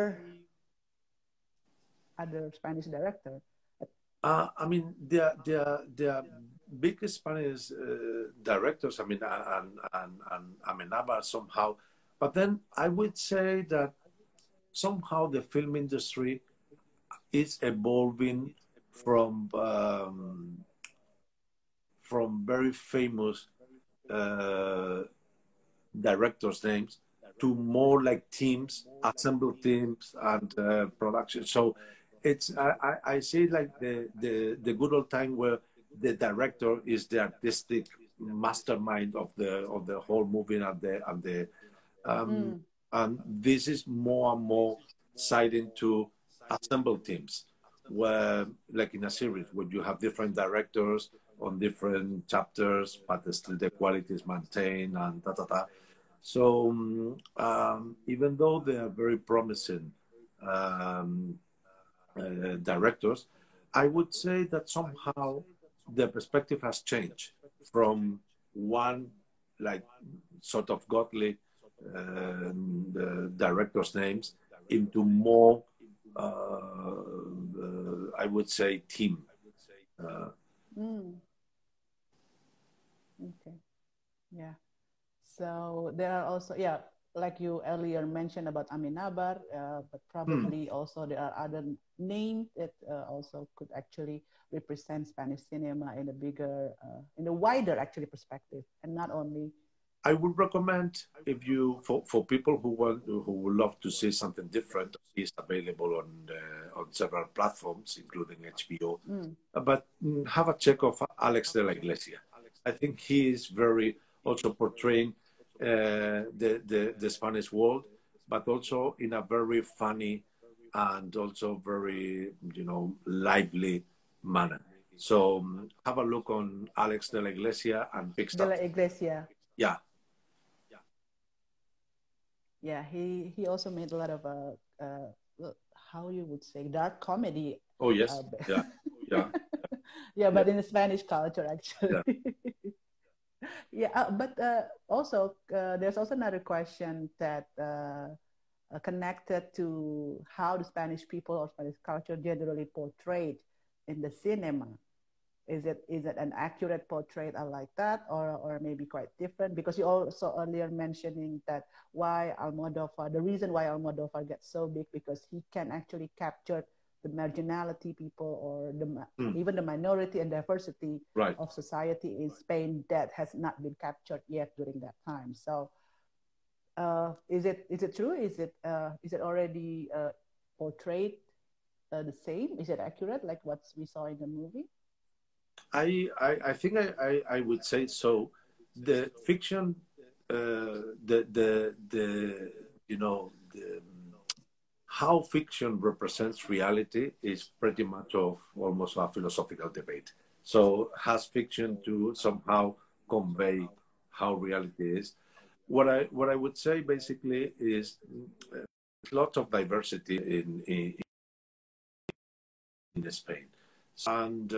other Spanish director?
I mean, they are big Spanish directors. I mean, and Amenábar somehow, but then I would say that somehow the film industry is evolving from um, from very famous uh, directors' names to more like teams, assembled teams, and production. So it's I see like the good old time where the director is the artistic mastermind of the whole movie um,
Mm,
and this is more and more siding to assembled teams where like in a series where you have different directors on different chapters but still the quality is maintained and da da da. So even though they are very promising um, directors, I would say that somehow the perspective has changed from one like sort of godly the directors' names into more, I would say, team. Uh,
mm, okay. Yeah. So there are also, yeah, like you earlier mentioned about Amenábar, but
hmm.
probably also there are other names that also could actually represent Spanish cinema in a bigger, in a wider actually perspective, and not only.
I would recommend if you for people who would love to see something different, it's available on several platforms, including HBO.
Mm,
But have a check of Alex de la Iglesia. I think he is very also portraying the Spanish world, but also in a very funny and also very lively manner. So have a look on Alex de la Iglesia and pick
de la
something.
Iglesia.
Yeah.
Yeah, he also made a lot of how you would say dark comedy.
Oh
Uh,
yes. Yeah. Yeah.
yeah,
Yeah.
but in the Spanish culture actually.
Yeah.
Yeah, but also there's also another question that connected to how the Spanish people or Spanish culture generally portrayed in the cinema. Is it an accurate portrait like that, or maybe quite different? Because you also earlier mentioning that the reason why Almodovar gets so big because he can actually capture the marginality people or
Hmm.
even the minority and diversity
Right.
of society in Spain that has not been captured yet during that time. So is it true? Is it already portrayed the same? Is it accurate like what we saw in the movie?
I think I would say so. The fiction, the how fiction represents reality is pretty much of almost a philosophical debate. So has fiction to somehow convey how reality is? What I would say basically is lots of diversity in Spain, and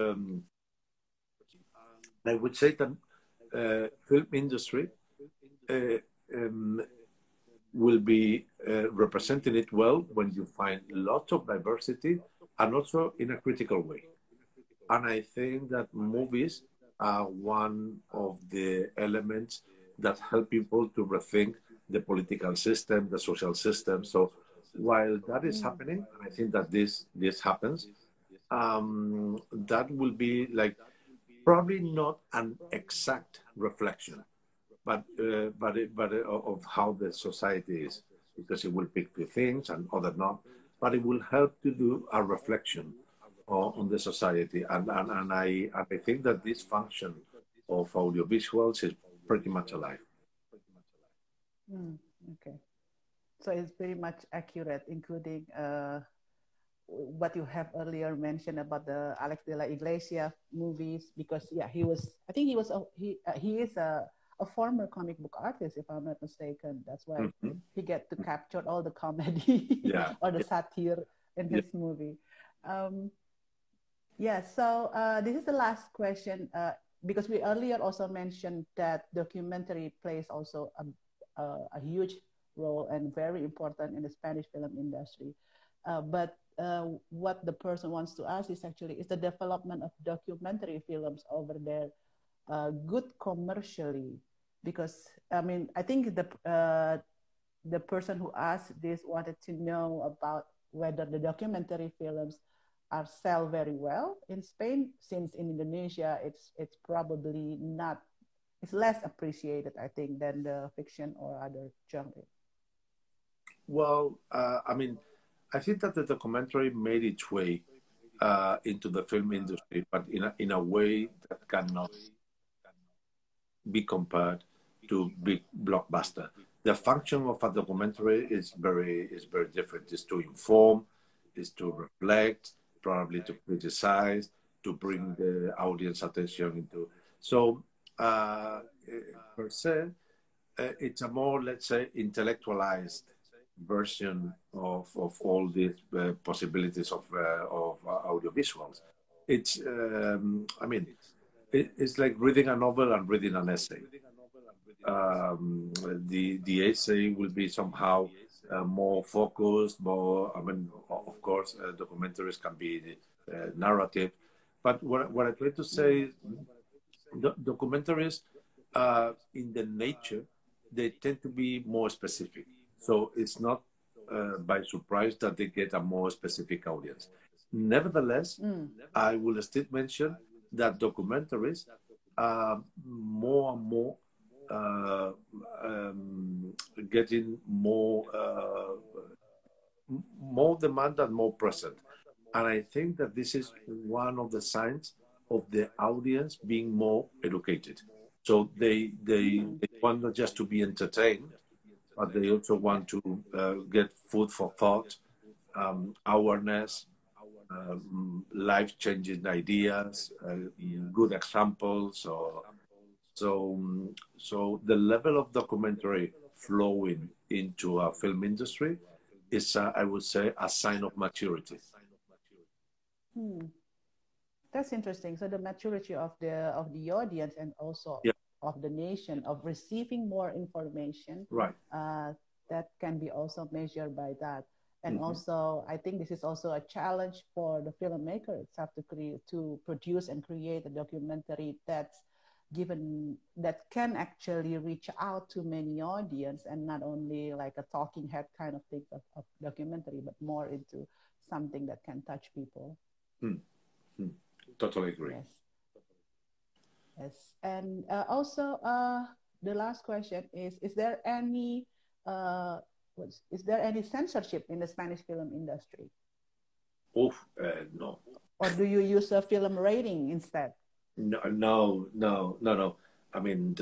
I would say that film industry uh, um, will be representing it well when you find lots of diversity and also in a critical way. And I think that movies are one of the elements that help people to rethink the political system, the social system. So while that is
Mm,
happening, and I think that this happens, that will be like probably not an exact reflection, but of how the society is, because it will pick the things and other not, but it will help to do a reflection on the society, and I think that this function of audiovisuals is pretty much alive.
mm, okay. So it's very much accurate, including what you have earlier mentioned about the Alex de la Iglesia movies, because yeah, I think he was, he is a a former comic book artist, if I'm not mistaken. That's why
Mm-hmm.
he get to capture all the comedy
Yeah.
or the satire in
Yeah.
his movie. Um, yeah, so this is the last question because we earlier also mentioned that documentary plays also a huge role and very important in the Spanish film industry. But what the person wants to ask is actually, is the development of documentary films over there good commercially? Because I mean, I think the person who asked this wanted to know about whether the documentary films are sell very well in Spain, since in Indonesia it's probably not, it's less appreciated, I think, than the fiction or other genre.
Well, I mean, I think that the documentary made its way into the film industry, but in a way that cannot be compared to big blockbuster. The function of a documentary is very different. Is to inform, is to reflect, probably to criticize, to bring the audience attention into. So per se, it's a more, let's say, intellectualized version of all these possibilities of audiovisuals. It's I mean, it's like reading a novel and reading an essay. The essay will be somehow more focused, more. I mean, of course, documentaries can be narrative, but what I try to say is documentaries, in the nature, they tend to be more specific. So it's not by surprise that they get a more specific audience. Nevertheless, I will still mention that documentaries are more and more uh, getting more demand and more present. And I think that this is one of the signs of the audience being more educated. So they want not just to be entertained, but they also want to get food for thought, awareness, life-changing ideas, good examples. So the level of documentary flowing into a film industry is, I would say, a sign of maturity.
Hmm. That's interesting. So the maturity of the audience and also
Yeah,
of the nation of receiving more information,
right.
uh, that can be also measured by that. And
Hmm.
also, I think this is also a challenge for the filmmaker itself to create, to produce and create a documentary that's given that can actually reach out to many audience and not only like a talking head kind of thing of documentary, but more into something that can touch people.
Hmm. Hmm. Totally agree.
Yes. Yes, and also the last question is there any uh, is there any censorship in the Spanish film industry,
Oh, no.
or do you use a film rating instead?
No, no, no, no, no. I mean,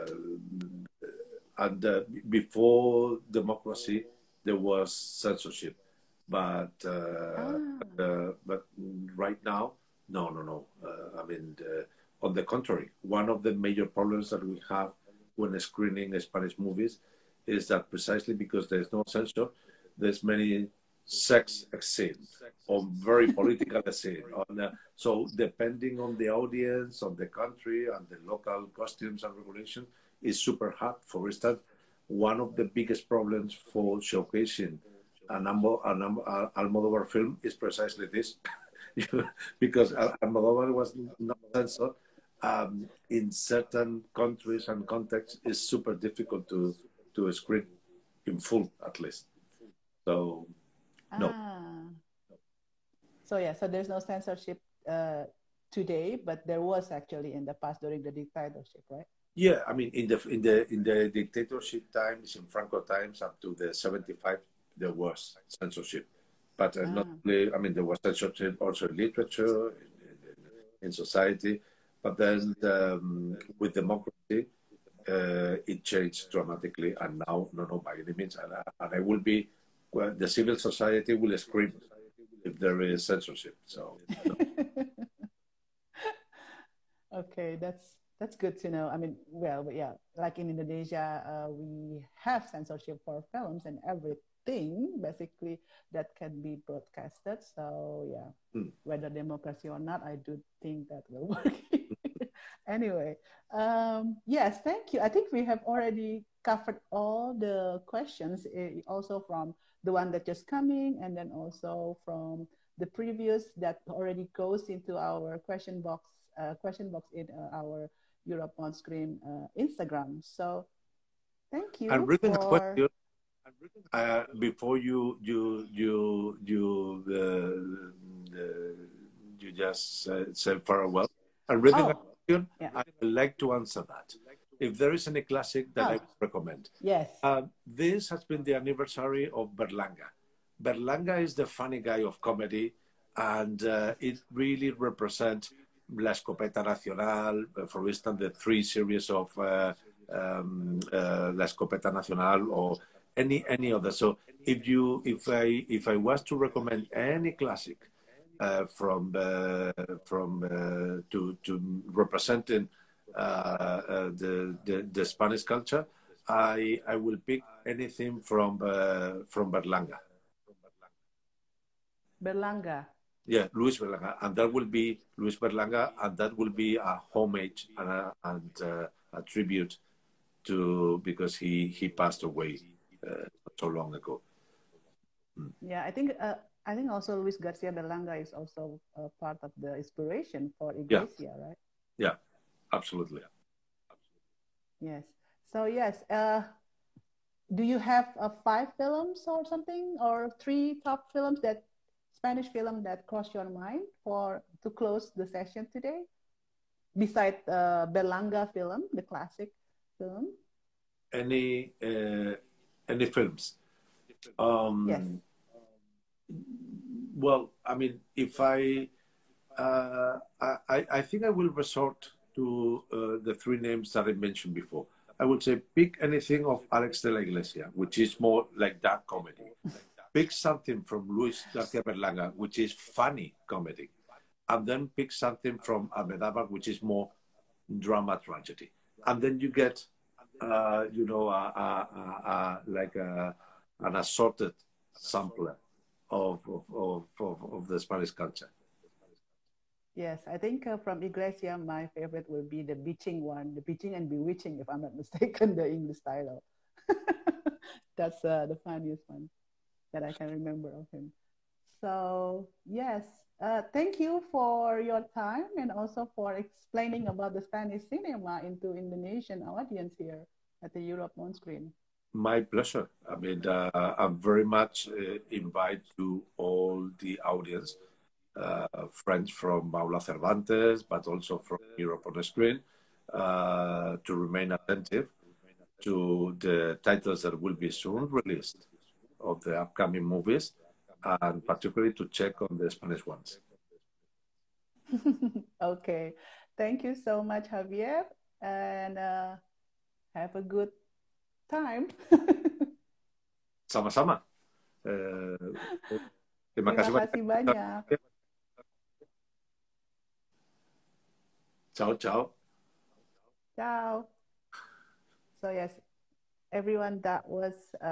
before democracy, there was censorship, but
Ah,
but right now, no, no, no. I mean, on the contrary, one of the major problems that we have when screening Spanish movies is that precisely because there's no censor, there's many sex scenes or very political scene. So depending on the audience, on the country, and the local costumes and regulation, is super hard. For instance, one of the biggest problems for showcasing Almodovar film is precisely this, because Almodovar was not censored. In certain countries and contexts, it's super difficult to screen in full, at least. So no.
ah. So yeah, so there's no censorship today, but there was actually in the past during the dictatorship, right?
Yeah, I mean, in the dictatorship times, in Franco times, up to the 75, there was censorship, but not
Ah,
only. I mean, there was censorship also in literature, in society, but then with democracy, it changed dramatically, and now, no, no, by any means, and I will be. Well, the civil society will scream if there is censorship. So, no.
okay, That's good to know. I mean, well, but yeah, like in Indonesia, we have censorship for films and everything basically that can be broadcasted. So yeah, whether democracy or not, I do think that will work. Anyway, yes, thank you. I think we have already covered all the questions, also from the one that just coming, and then also from the previous that already goes into our question box in our Europe on Screen Instagram. So thank
I'm
you
reading a
for.
question before you just said farewell. I'm reading a
Oh,
question.
yeah.
I would like to answer that. If there is any classic that I
Oh,
would recommend,
yes.
this has been the anniversary of Berlanga. Berlanga is the funny guy of comedy, and it really represents La Escopeta Nacional, for instance, the three series of La Escopeta Nacional, or any other. So if I was to recommend any classic to representing the Spanish culture, I will pick anything from Berlanga.
Berlanga.
Yeah, Luis Berlanga, and that will be Luis Berlanga, and that will be a homage a tribute to, because he passed away not so long ago.
Yeah, I think also Luis Garcia Berlanga is also part of the inspiration for
Yeah,
Iglesia, right?
yeah, absolutely.
Yes. So yes, do you have five films or something, or three top films that Spanish film that cross your mind for to close the session today? Besides Berlanga film, the classic film.
Any films?
Yes.
Well, I mean, if I think I will resort to the three names that I mentioned before. I would say pick anything of Alex de la Iglesia, which is more like dark comedy. Pick something from Luis Garcia Berlanga, which is funny comedy. And then pick something from Almodovar, which is more drama tragedy. And then you get, an assorted sampler of the Spanish culture.
Yes, I think from Iglesia, my favorite will be the Beaching one, the Beaching and Bewitching, if I'm not mistaken, the English title. That's the funniest one that I can remember of him. So, yes, thank you for your time and also for explaining about the Spanish cinema into Indonesian audience here at the Europe on Screen.
My pleasure. I mean, I'm very much invite to all the audience, friends from Aula Cervantes, but also from Europe on the Screen, to remain attentive to the titles that will be soon released of the upcoming movies, and particularly to check on the Spanish ones.
Okay. Thank you so much, Javier, and have a good time.
Sama-sama. Terima
Terima
kasih
kasih
banyak.
banyak.
Ciao, ciao.
Ciao. So yes, everyone, that was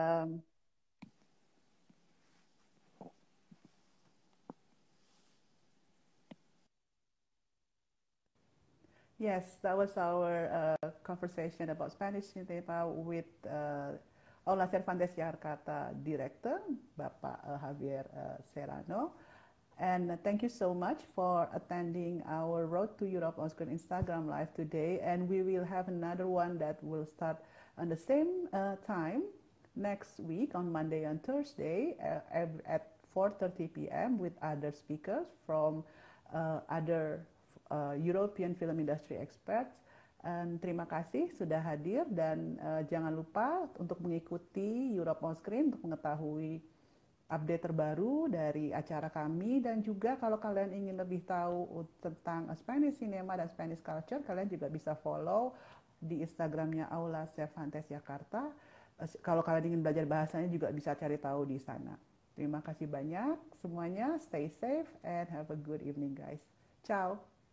yes, that was our conversation about Spanish cinema with Aula Cervantes Jakarta director, Bapak Javier Serrano. And thank you so much for attending our Road to Europe on Screen Instagram Live today. And we will have another one that will start on the same time next week on Monday and Thursday at 4:30 p.m. with other speakers from other European film industry experts. Terima kasih sudah hadir dan jangan lupa untuk mengikuti Europe on Screen untuk mengetahui update terbaru dari acara kami, dan juga kalau kalian ingin lebih tahu tentang Spanish cinema dan Spanish culture, kalian juga bisa follow di Instagramnya Aula Cervantes Jakarta. Kalau kalian ingin belajar bahasanya juga bisa cari tahu di sana. Terima kasih banyak semuanya, stay safe and have a good evening guys. Ciao.